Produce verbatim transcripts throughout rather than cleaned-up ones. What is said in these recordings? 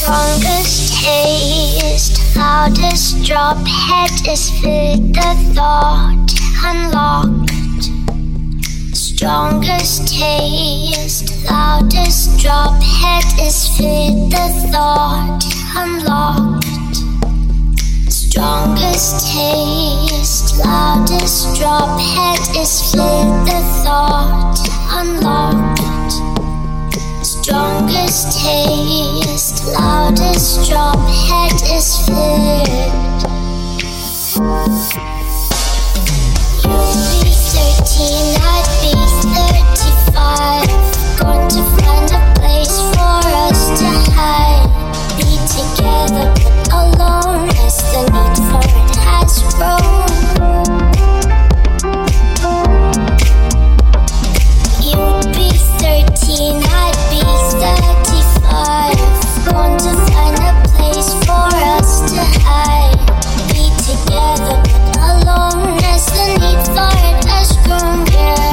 Strongest taste, loudest drop, head is fit, the thought unlocked. Strongest taste, loudest drop, head is fit, the thought unlocked. Strongest taste, loudest drop, head is fit, the thought unlocked. Strongest taste, loudest drop, head is flipped. You'd be thirteen, I'd be thirty-five. Going to find a place for us to hide. Be together but alone as the need for it has grown. You'd be thirteen, I'd be thirty-five. Going to find a place for us to hide. Be together but alone as the need for it has grown, yeah.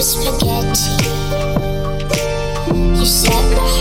spaghetti. You set my